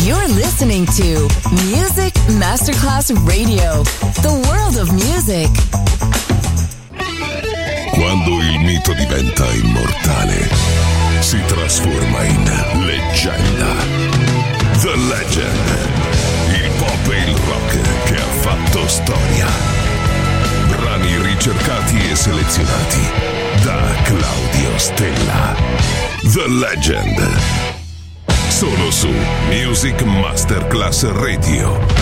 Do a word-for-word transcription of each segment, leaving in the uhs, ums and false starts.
You're listening to Music Masterclass Radio, the world of music. Quando il mito diventa immortale, si trasforma in leggenda. The Legend, il pop e il rock che ha fatto storia. Brani ricercati e selezionati da Claudio Stella. The Legend. Solo su Music Masterclass Radio.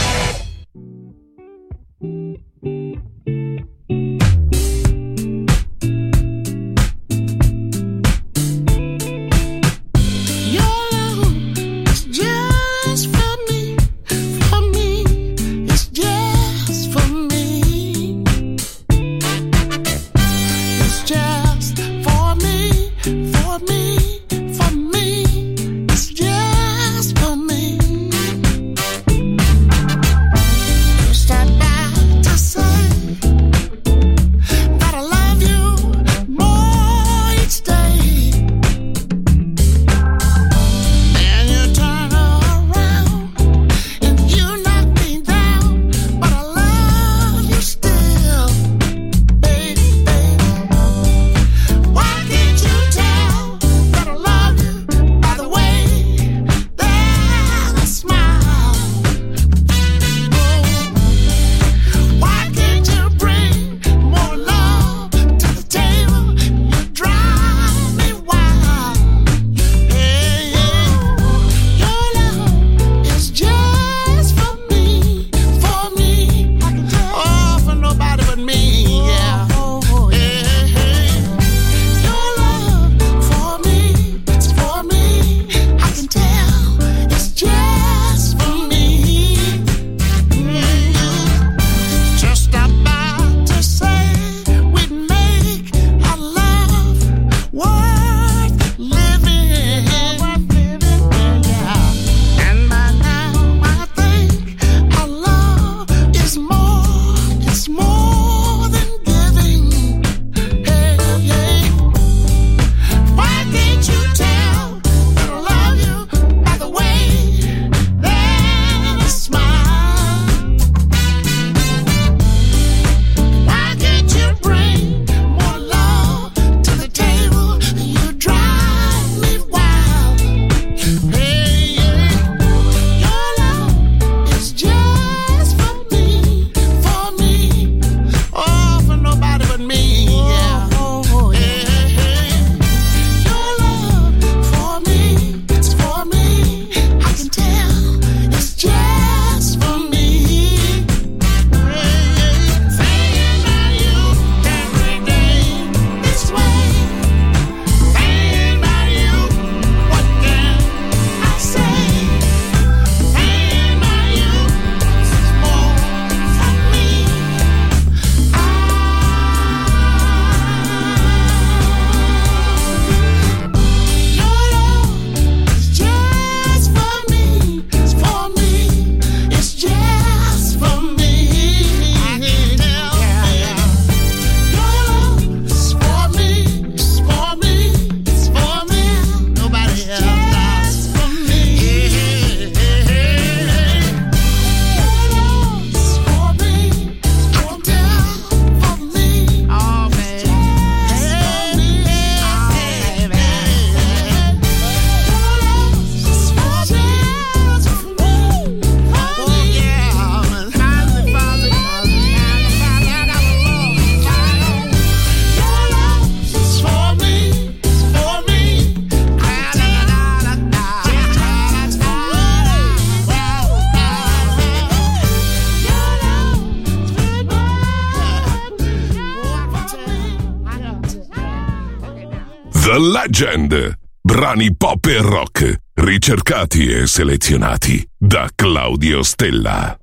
The Legend. Brani pop e rock, ricercati e selezionati da Claudio Stella.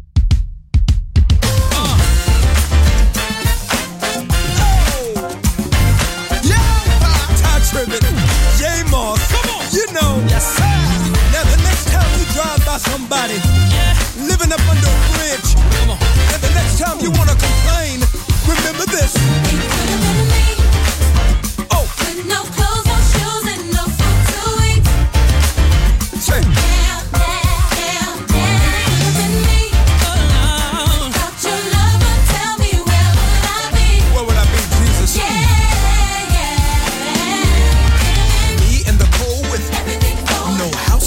Somebody yeah. living up under a bridge. Come on. And the next time you wanna complain, remember this. He could have been me. Oh. With no clothes, no shoes, and no food to eat. Say. Yeah, yeah,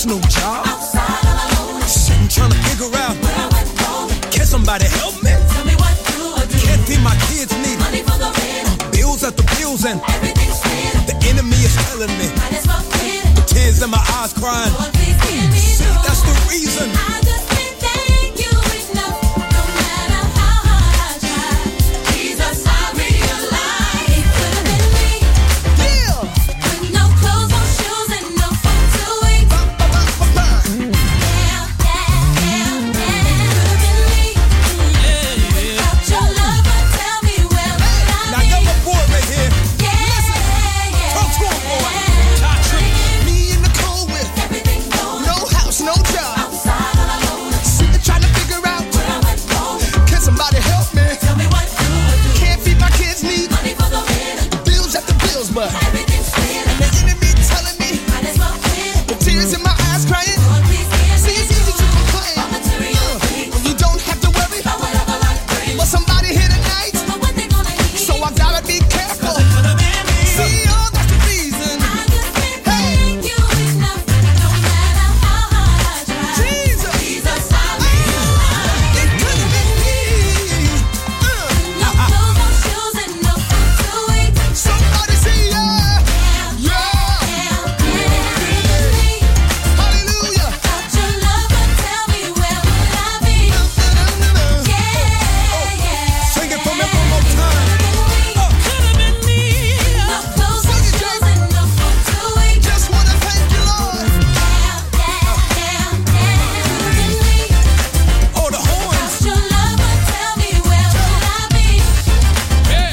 no job. Outside all alone. Sitting trying to figure out where I went wrong. Can somebody help me? Tell me what do I do? Can't feed my kids, need money for the rent. Uh, bills after bills and everything's fair. The enemy is telling me might as well quit. The tears in my eyes crying. Lord, please give me See, joy. That's the reason. I just can't thank you enough. No matter how hard I try. Jesus, I realize it could have been me. Yeah. With no clothes, no shoes, and no food to eat. Ba, ba, ba, ba, ba. Yeah, yeah, yeah, yeah. Could have been me. Yeah, yeah. Without your love, but tell me where would I be? Now, got my boy right here. Yeah, Listen. yeah. Talk to him, boy. Touch him. Me in the cold with everything going. No house, no job. Outside all alone. Sitting trying to figure out where I went wrong. Can somebody help me? Tell me what do I do? Can't feed my kids, need money for the rent. Bills after bills, but everything's fair. And the enemy telling me might as well quit. The tears in my eyes crying. Lord, please give See, it's easy to complain. All material things. You don't have to worry about whatever life brings. But somebody here tonight. But what they gonna need? So I gotta be careful. See, oh, that's the reason. I just can't thank you enough. No matter how hard I try. Jesus, Jesus, I realize it could have been me. Uh, no clothes, no shoes, and no food to eat. Somebody say yeah, yeah, yeah, yeah. Hallelujah. Without your love, but tell me where would I be? Yeah, yeah. Sing it for me one more time. Oh, could have been me. No clothes, no shoes, and no food to eat. Just wanna thank you, Lord. Yeah, yeah, yeah, yeah. Could have been me. Oh, the horns. Without your love, but tell me where would I be? Yeah,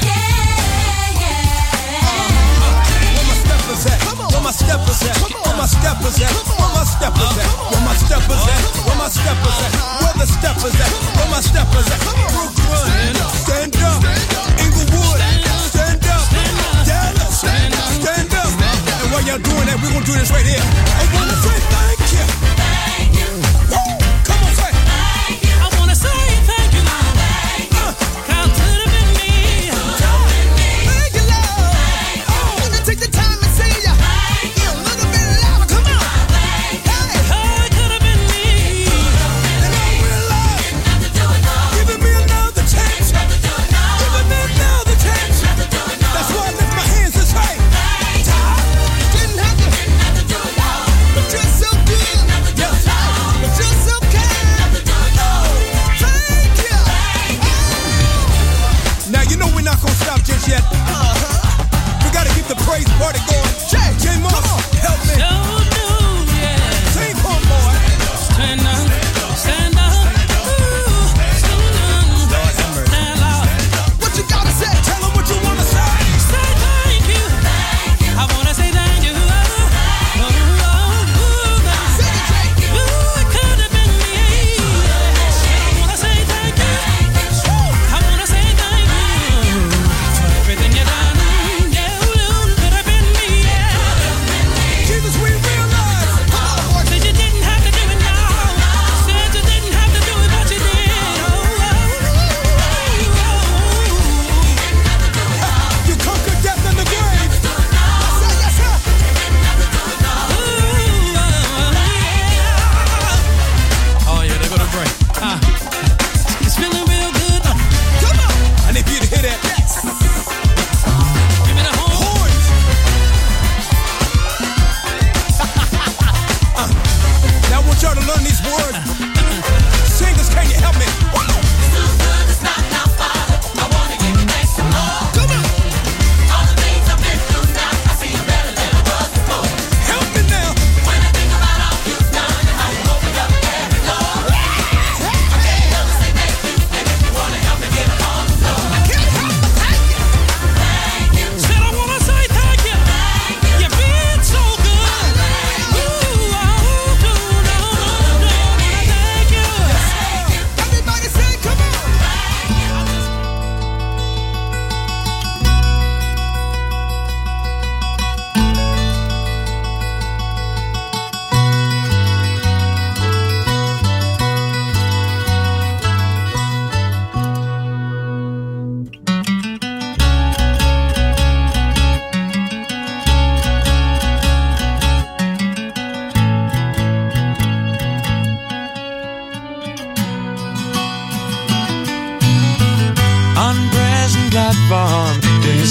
yeah. Where my steppers at? Where my steppers at? Where my steppers at? Where my steppers at? Where my steppers at? Where my steppers at? Where the steppers at? Where my steppers at? Brooklyn, stand up. Inglewood, stand up. Dallas, stand up. And while y'all doing that, we gonna do this right here. I wanna say thank you. Thank you. Woo! Come on, say. Thank you. I wanna say thank you, Lord. Thank you. How could have been me? Thank you, Lord. I wanna take the time and say ya. Thank you. A little bit louder, come on. Hey. How it could have been me. And I realize giving me another chance. Giving me another chance. That's why I lift my hands and say, didn't have to, but just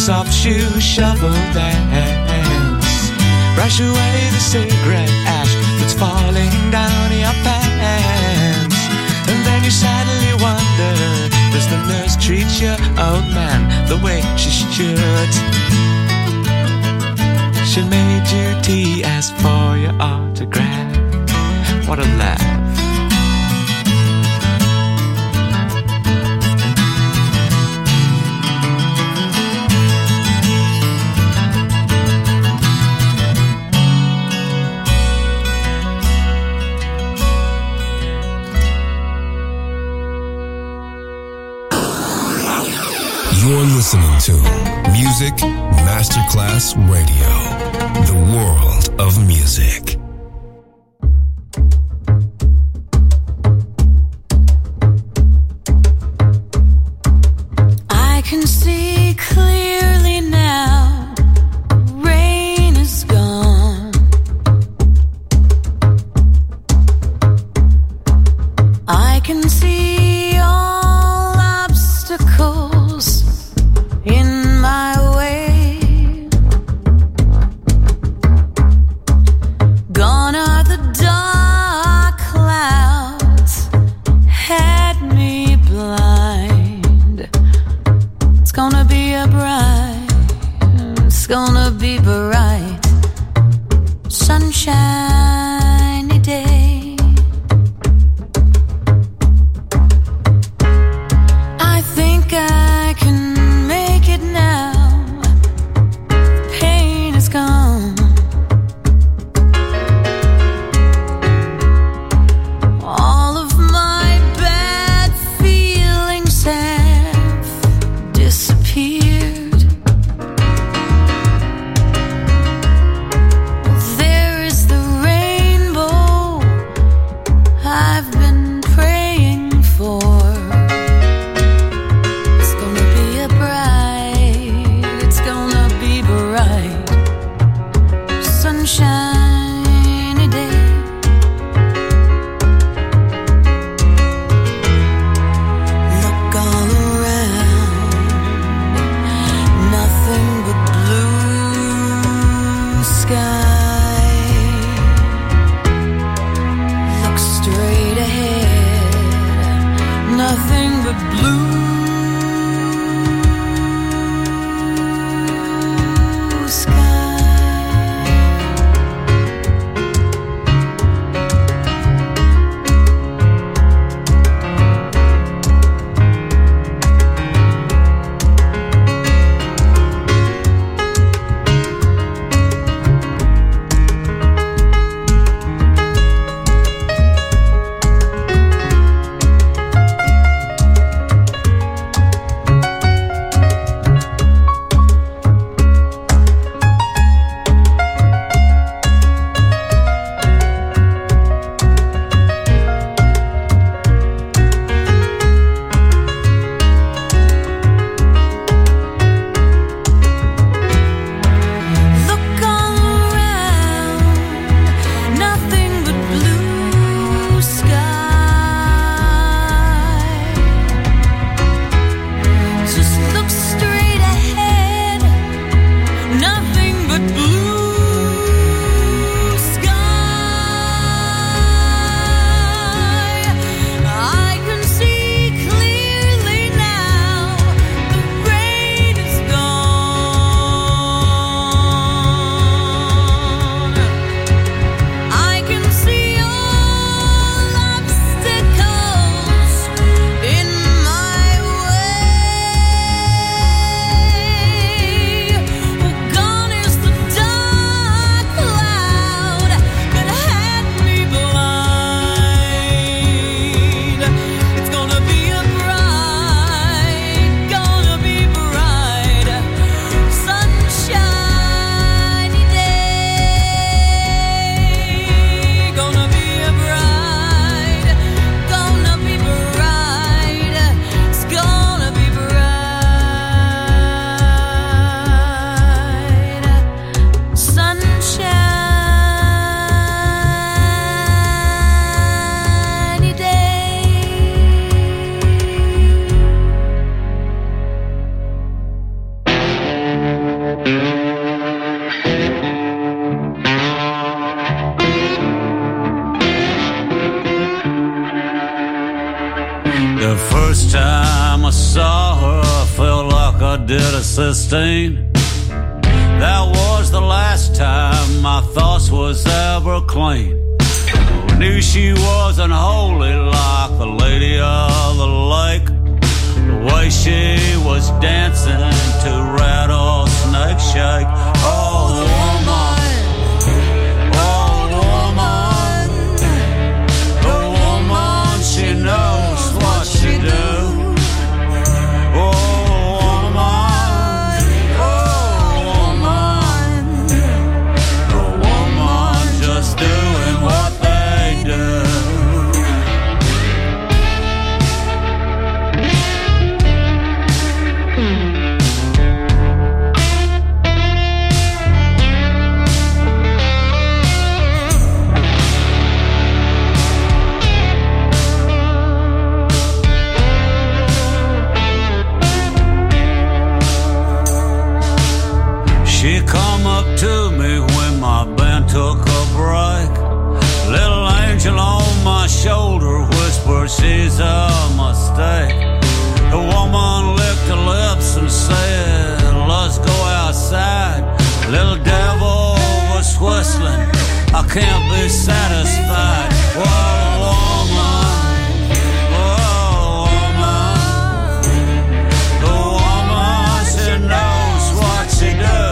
soft shoe shuffle dance. Brush away the cigarette ash that's falling down your pants. And then you sadly wonder, does the nurse treat your old man the way she should? She made you tea, asked for your autograph. What a laugh. You're listening to Music Masterclass Radio, the world of music. I can see clearly now, rain is gone. I can see all obstacles in my way. Gone are the dark clouds, had me blind. It's gonna be a bright, it's gonna be bright, sunshiny day. I think I can make it now. Pain is gone. All of my bad feelings have disappeared. There is the rainbow I've been praying for. It's gonna be a bright, it's gonna be bright, sunshiny day. Look all around, nothing but blue sky. Look straight ahead, nothing but blue sky. The first time I saw her, I felt like I did a sixteen. That was the last time my thoughts was ever clean. I knew she wasn't holy like the lady of the lake. The way she was dancing to Rattlesnake Shake. Oh, the woman, oh, the woman, the woman, she knows what she do. Oh, woman, oh, woman, the woman just doing what they do. She come up to me when my band took a break. Little angel on my shoulder whispered she's a mistake. The woman licked her lips and said, let's go outside. Little devil was whistling, I can't be satisfied. Whoa, woman, whoa, woman, the woman, she knows what she do.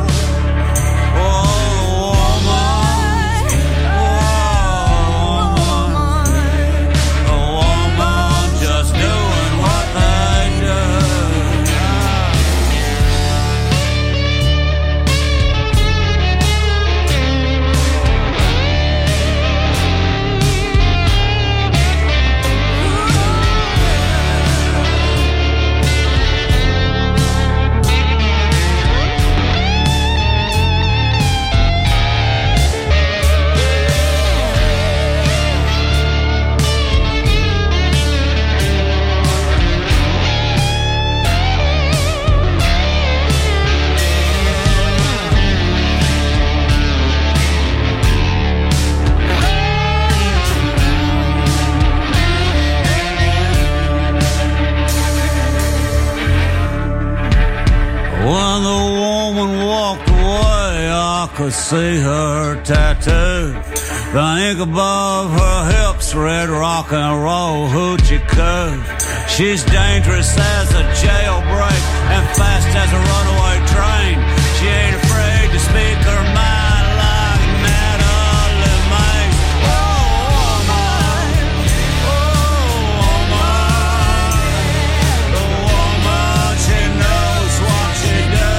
When the woman walked away, I could see her tattoo. The ink above her hips read rock and roll hoochie coo. She's dangerous as a jailbreak and fast as a runaway train. She ain't afraid to speak her mind like Natalie Mace. Oh, woman, oh, woman, the woman, she knows what she do.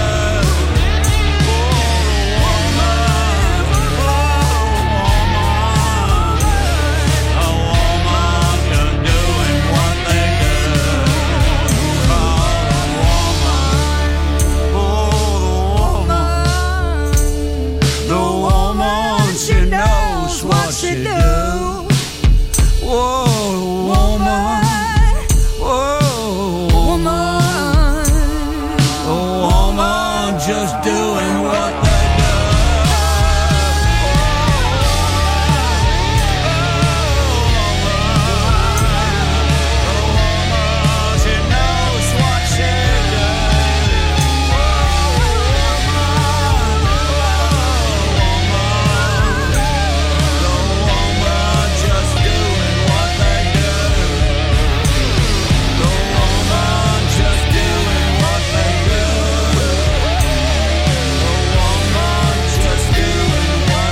Oh, woman, oh, woman, a woman just doing what they do. Oh, woman, oh, the woman, the woman, she knows what she do. Whoa, woman, whoa, woman, a woman just doing what they do. She knows what she do. The woman just doing what they do. The woman just doing what they do. The woman just doing what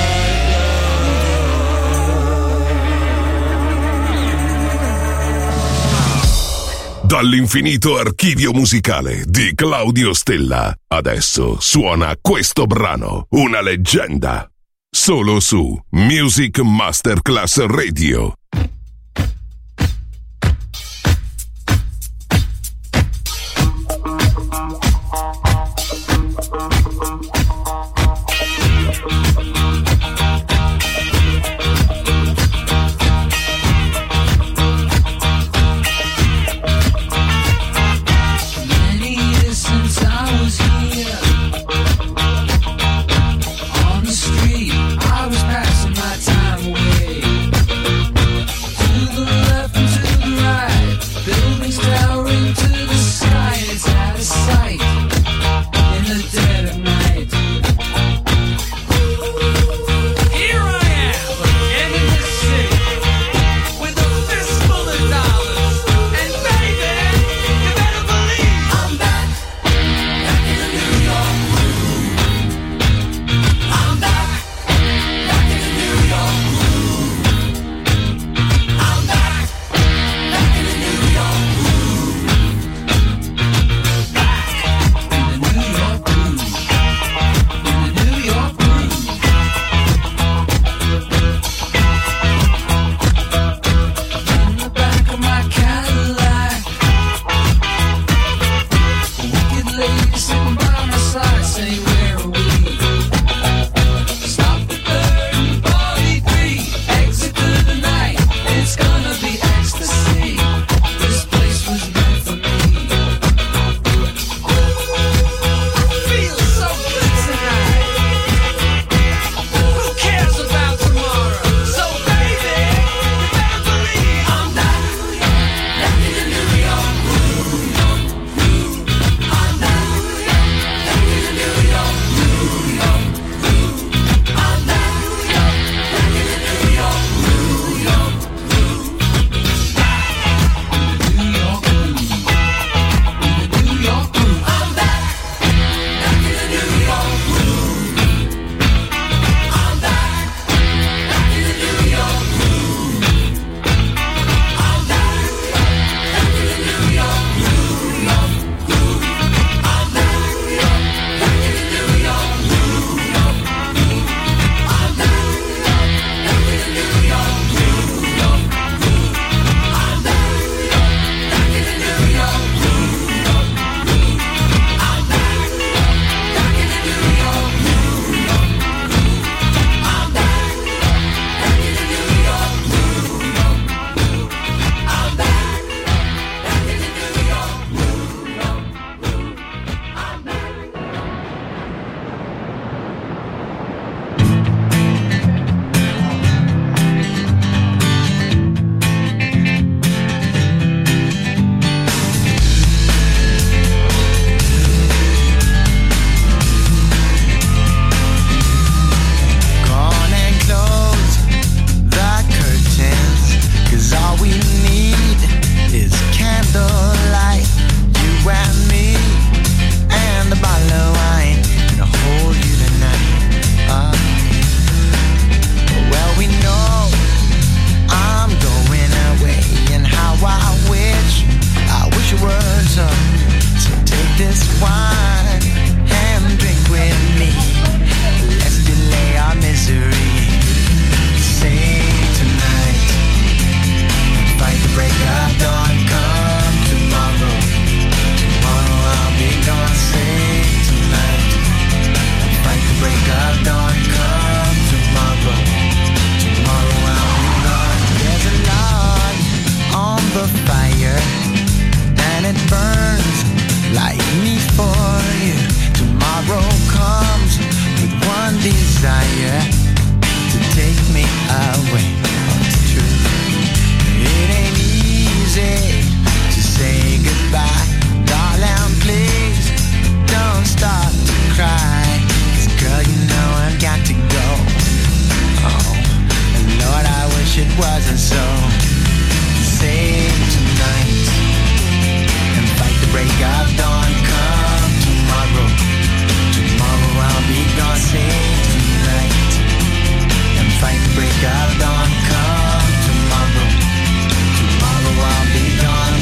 Dall'infinito archivio musicale di Claudio Stella, adesso suona questo brano, una leggenda, solo su Music Masterclass Radio. Many years since I was here on the street, I was passing my time away. wasn't so. Save tonight and fight the break of dawn. Come tomorrow, tomorrow I'll be gone. Save tonight and fight the break of dawn. Come tomorrow, tomorrow I'll be gone.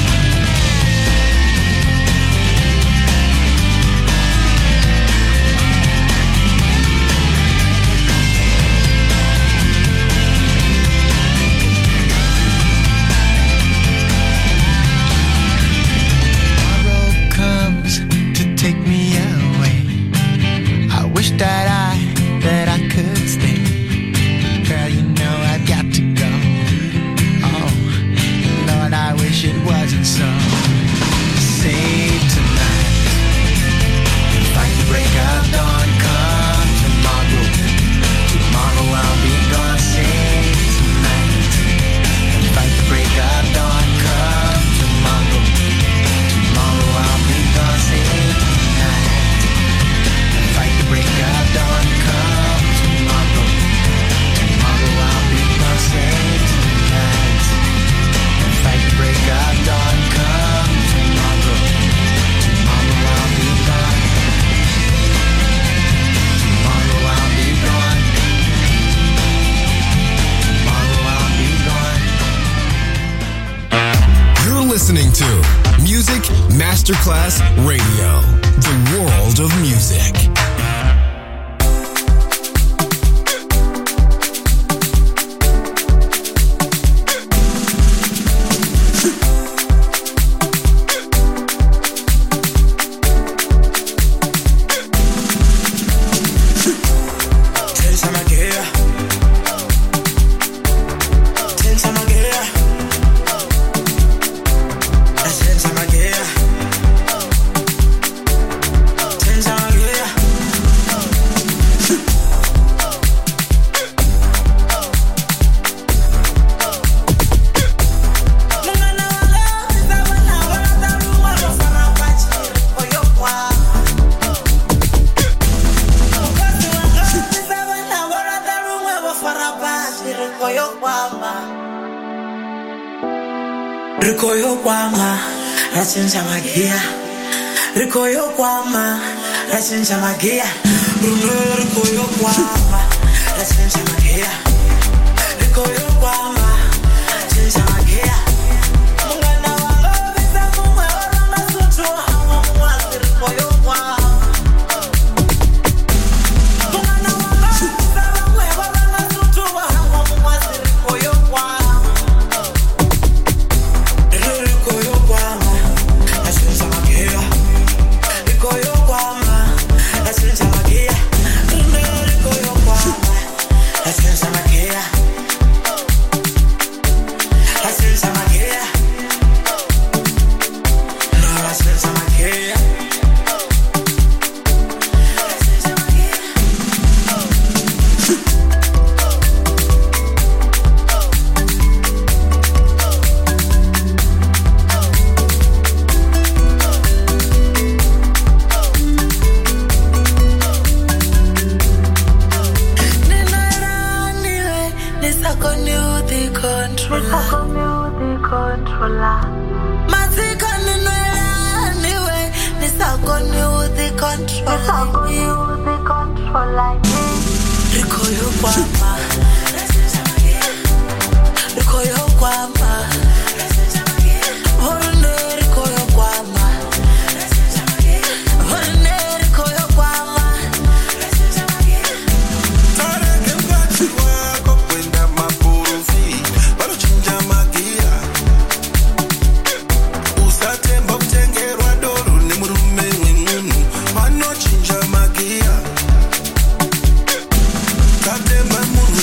Take me away. I wish that I, that I could stay. Girl, you know I've got to go. Oh, Lord, I wish it wasn't so. Save tonight. Fight the break of dawn. Come tomorrow. Tomorrow I'll be gone. Save tonight. Fight the break of dawn. Come tomorrow. Tomorrow I'll be gone. Save break of dawn, come tomorrow. Tomorrow I'll be gone, save tonight. And fight the break of dawn, come tomorrow. Tomorrow I'll be gone. Tomorrow I'll be gone. Tomorrow I'll be gone. You're listening to Music Masterclass Radio, the world of music. Magia, Rikoyo Kwama, Rasenja Magia, Bruno Rikoyo Kwama, Rasenja Magia, Rikoyo Kwama, Rasenja Magia. Mungana wango visa mumwe oranga sutu hawa mwasi Rikoyo Kwama. Mungana wango visa mumwe oranga sutu hawa mwasi Rikoyo Kwama. Rikoyo Kwama. Magia. Katemba munu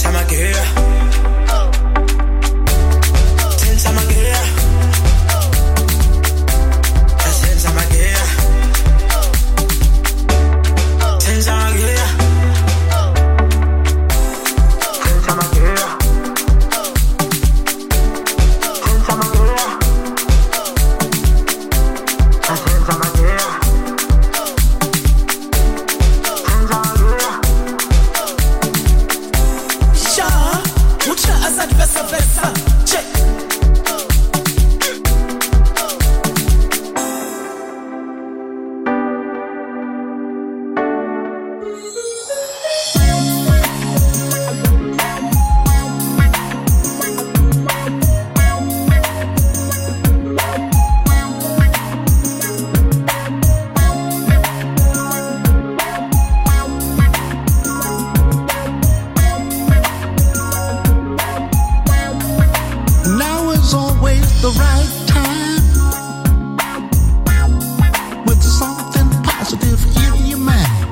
Senza maglia, senza maglia, senza maglia, senza maglia, senza maglia, senza maglia, senza maglia. Versa, versa, check. The right time with something positive in your mind.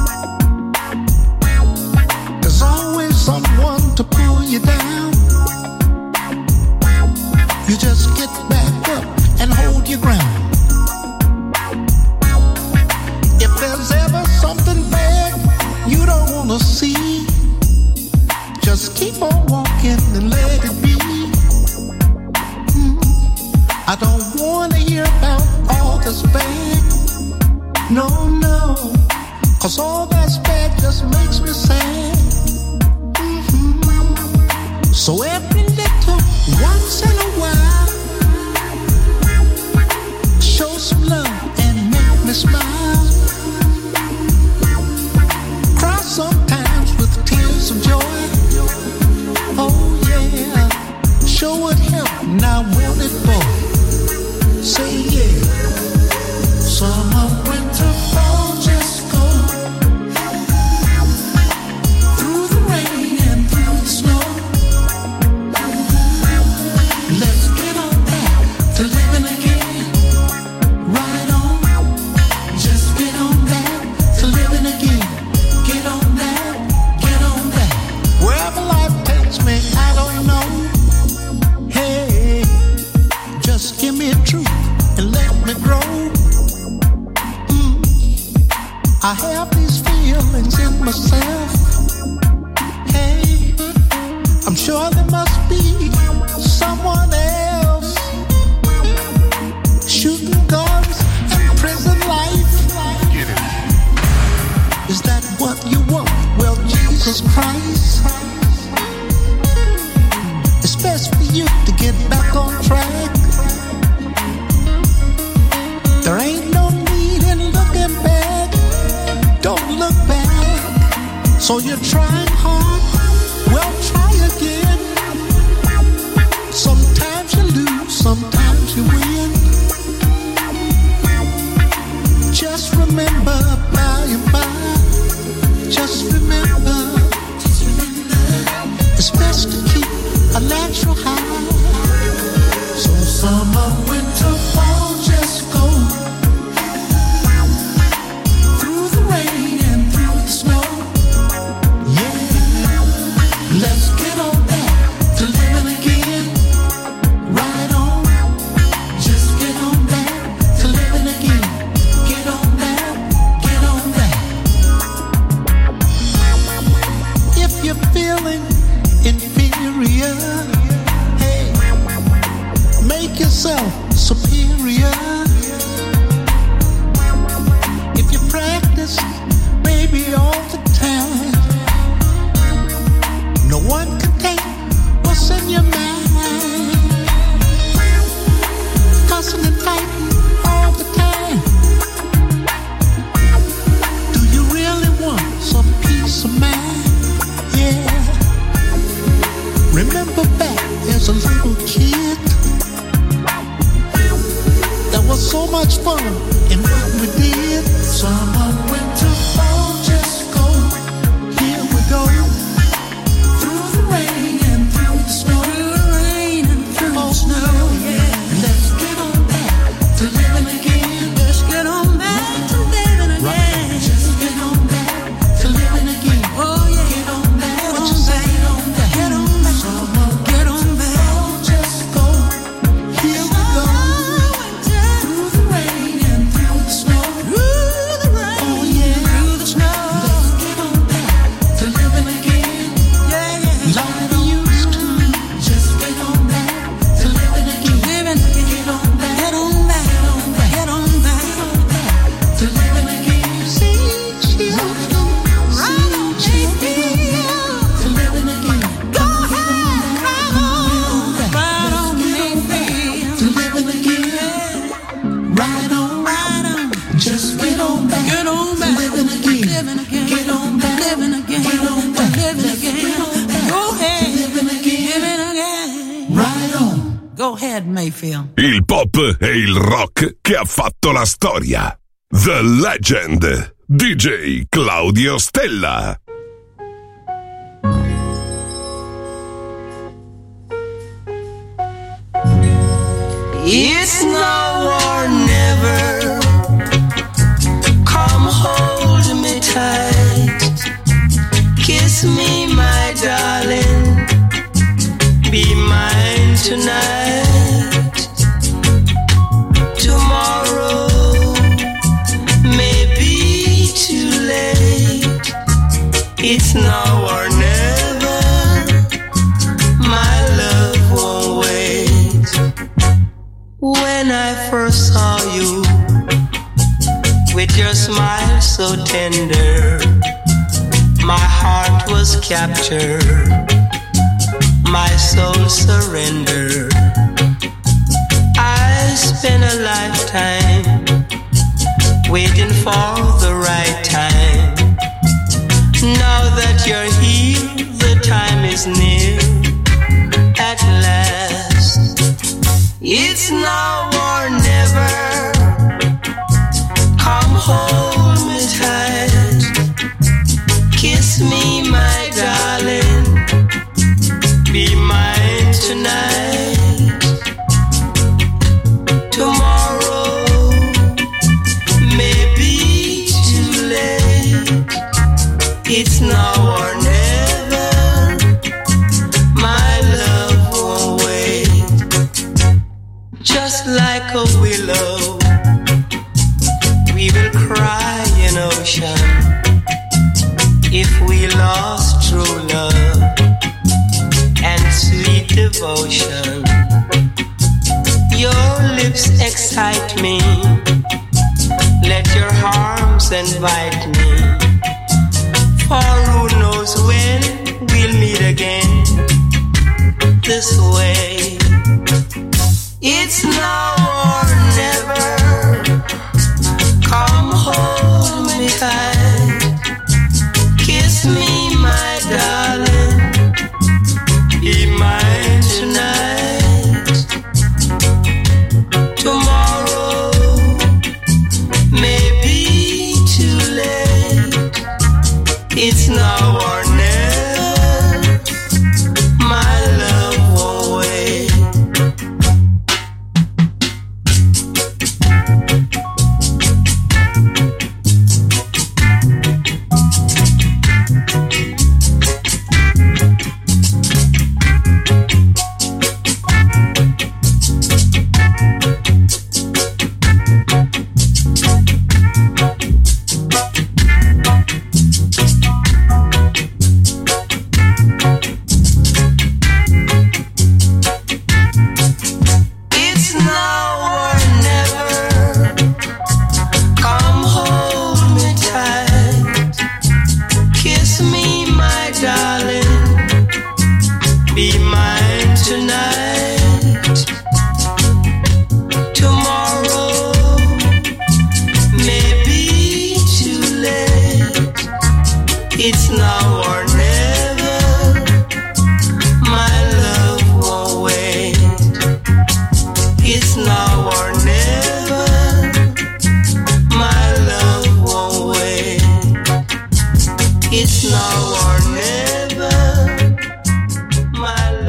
There's always someone to pull you down. You just get back up and hold your ground. If there's ever something bad you don't want to see, just keep on walking and let it be. I don't wanna hear about all that's bad. No, no, cause all that's bad just makes me sad. Mm-hmm. So every little once in a while, show some love and make me smile. Cry sometimes with tears of joy. Oh yeah, show what help and I want it for. Say yeah. Summer, winter, fall, just go through the rain and through the snow. Let's get on back to living again. Right on. Just get on back to living again. Get on back, get on back. Wherever life takes me, I don't know. Hey, just give me a truth and let me grow. Mm. I have these feelings in myself. Hey, I'm sure there must be someone else shooting guns and prison life. Get it. Is that what you want? Well, Jesus Christ, it's best for you to get back on track. There ain't no need in looking back. Don't look back. So you're trying hard. Well, try again. Sometimes you lose, sometimes you win. Just remember by and by. Just remember. It's best to keep a natural high. So summer, winter, fall, just go through the rain and through the snow. Yeah, let's get on back to living again. Right on, just get on back to living again. Get on back, get on back. If you're feeling inferior, hey, make yourself superior. If you practice, baby, all the time, no one can take what's in your mind. Cussing and fighting all the time. Do you really want some peace of mind? Yeah. Remember back as a little kid, there was so much fun in what we did. Summer, winter, fall, just go. Here we go. Through the rain and through the snow. Through the rain and through the snow, yeah. Let's get on back to living again. Let's get on back to living again. Right. Just get on back to living again. Oh yeah. Get on back. What you say? Get on back. Go ahead, Mayfield. Il pop e il rock che ha fatto la storia. The Legend, D J Claudio Stella. It's now or never. Come hold me tight. Kiss me, my darling. Be mine tonight. Tomorrow may be too late. It's now or never. My love won't wait. When I first saw you, with your smile so tender, my heart was captured, my soul surrendered. I spent a lifetime waiting for the right time. Now that you're here, the time is near at last. It's now or never. Come hold me tight. Kiss me, my darling. Be mine tonight. Tomorrow may be too late. It's now or never. My love won't wait. Just like a willow, we will cry in ocean if we lost true love and sweet devotion. Your lips excite me, let your arms invite me, for who knows when we'll meet again this way. It's now or never. Come hold me tight. Kiss me, my darling. Be mine tonight. Tomorrow may be too late. It's now or never. My love won't wait. It's now or never. Come hold me tight. Kiss me, my darling. Be mine tonight. Tomorrow may be too late. It's now or never. My love won't wait. It's now or never. My love won't wait. It's now or never. My love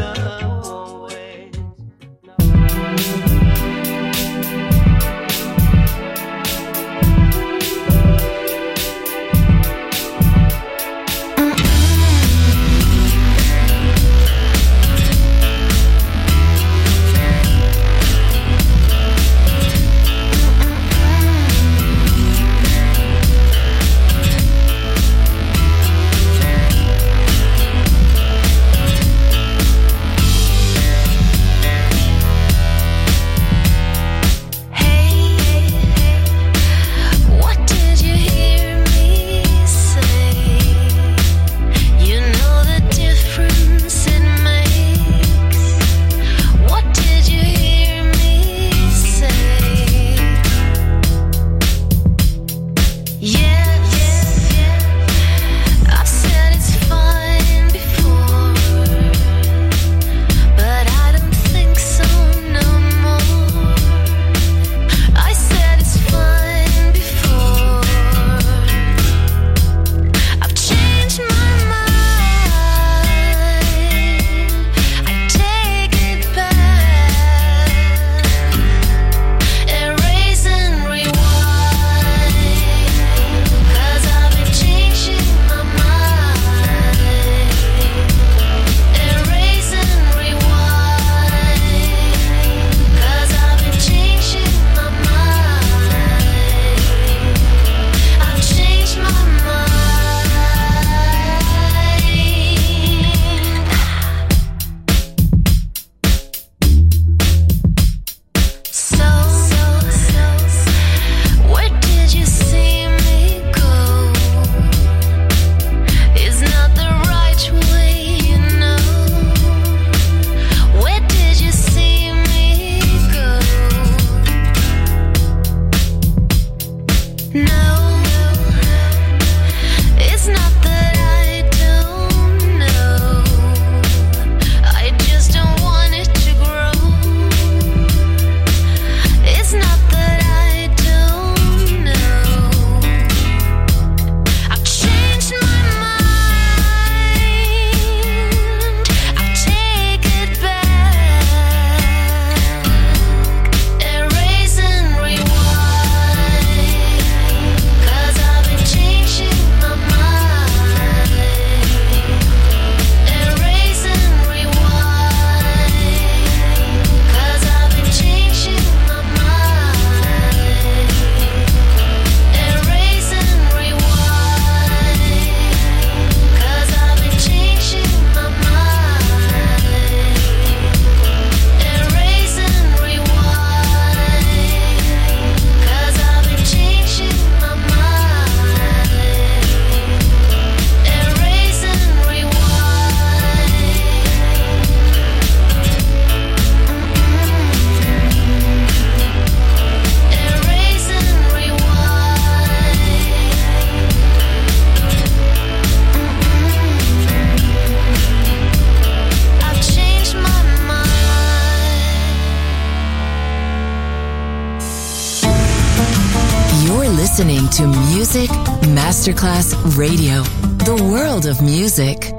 to Music Masterclass Radio, the world of music.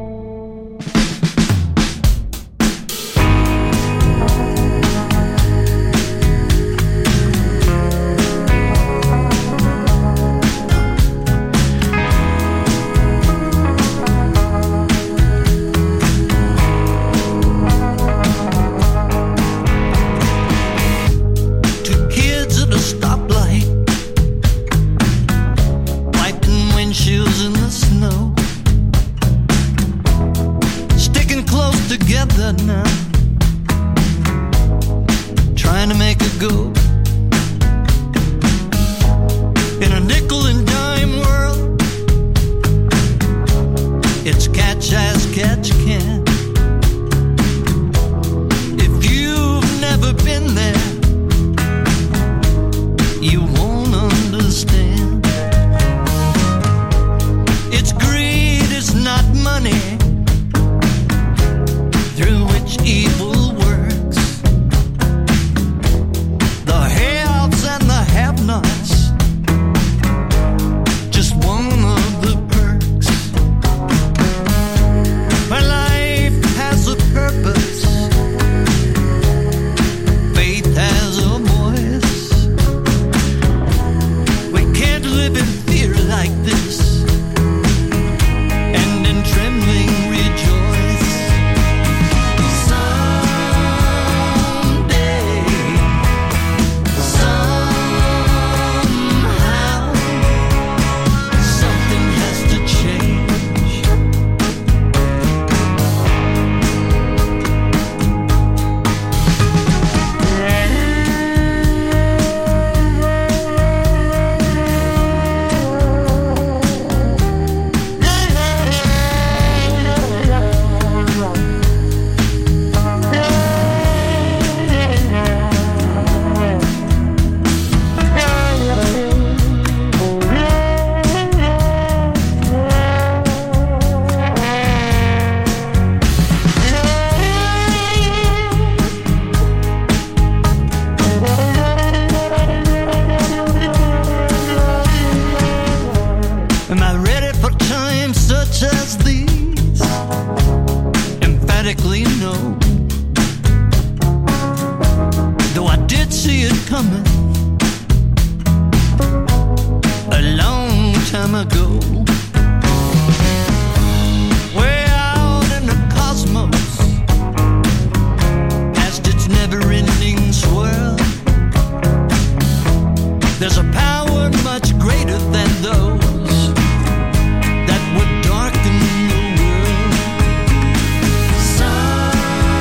That would darken the world. Some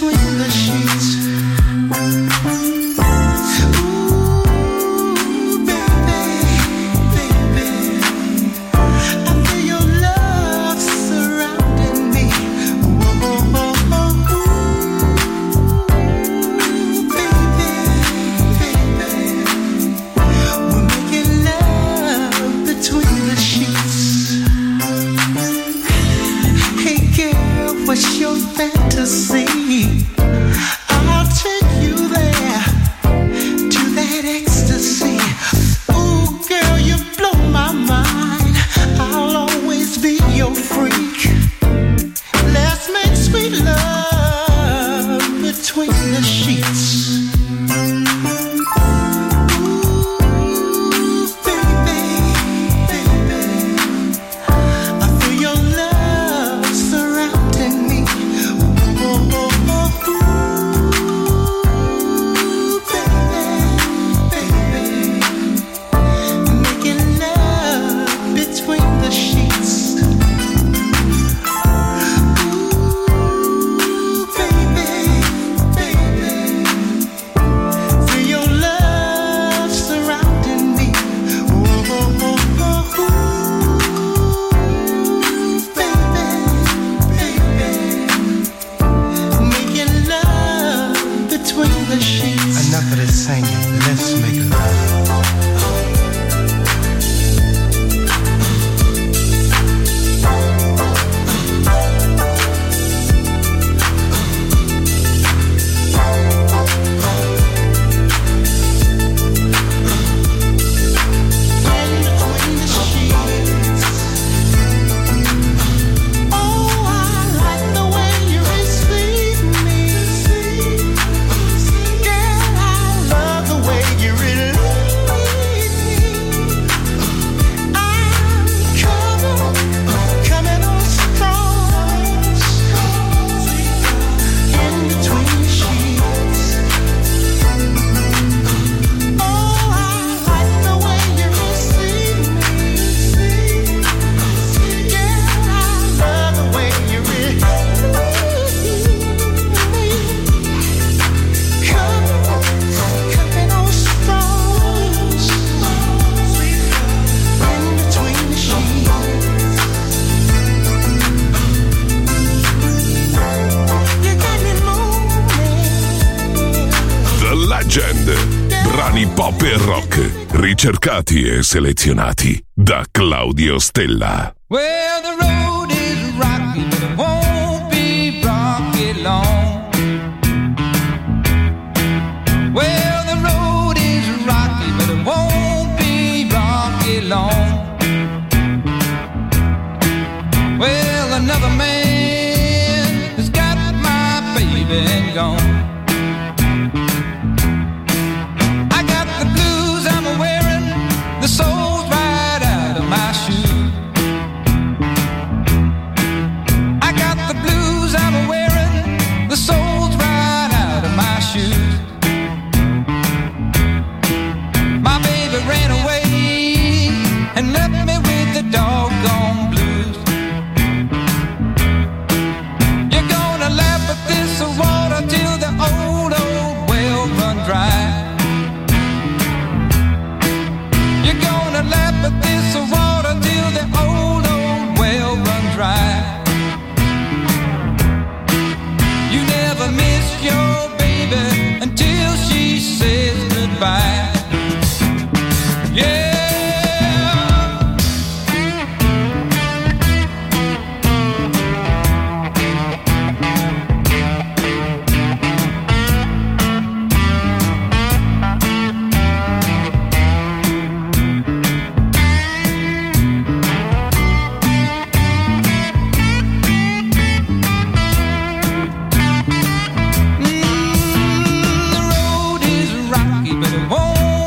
between the sheets. What's your fantasy? I'll take you there to that ecstasy. Ooh, girl, you blow my mind. I'll always be your freak. Let's make sweet love between the sheets. Brani pop e rock, ricercati e selezionati da Claudio Stella. Well, the road is rocky, but it won't be rocky long. Well, the road is rocky, but it won't be rocky long. Well, another man has got my baby gone. The soul's right out of my shoe. I got the blues I'm wearing. The soul's right out of my shoes. My baby ran away and left me with the doggone blues. You're gonna laugh at this water till the old, old well run dry. You're gonna laugh at this water till the old, old well run dry. You never miss your baby until she says goodbye. Yeah. But it won't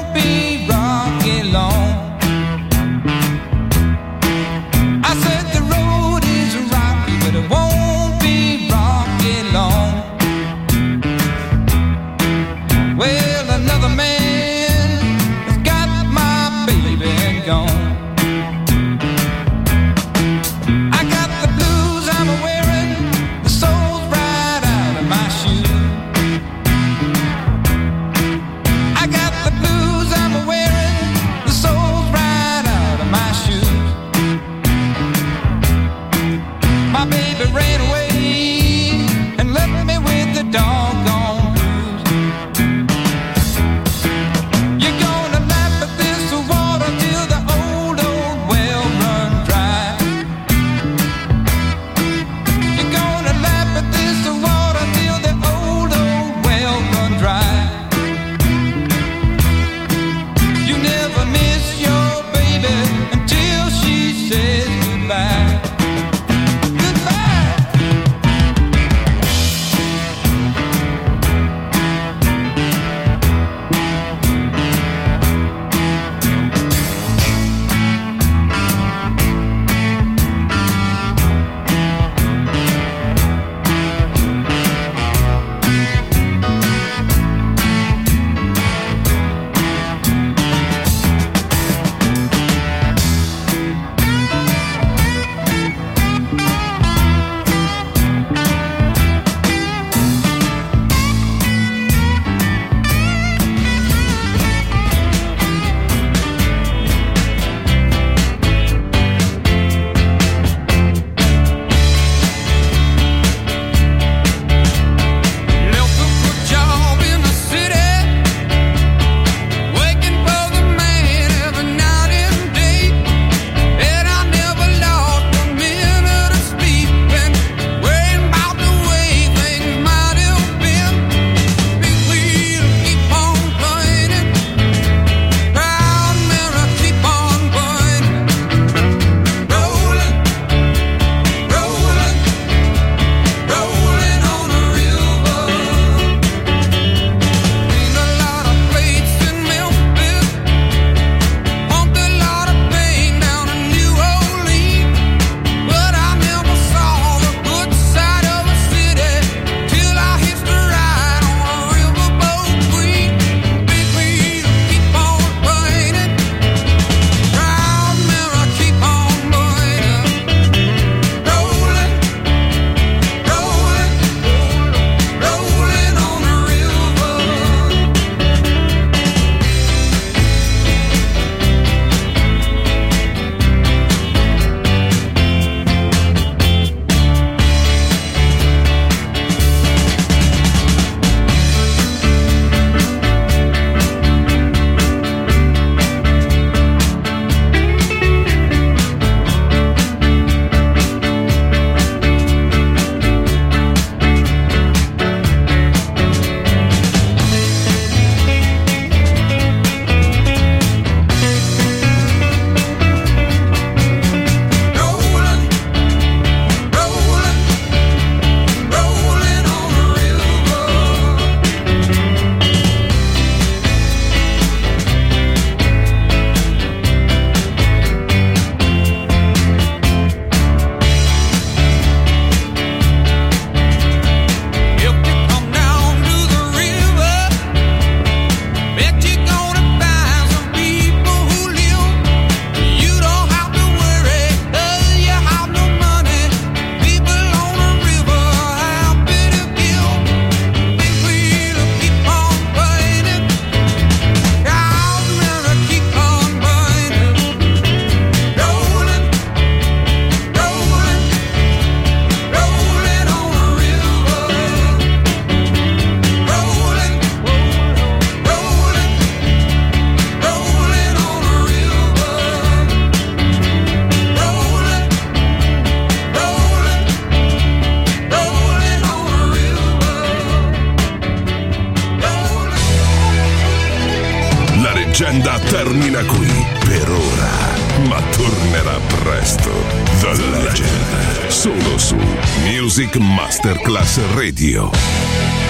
leggenda termina qui per ora, ma tornerà presto. The Legend, solo su Music Masterclass Radio.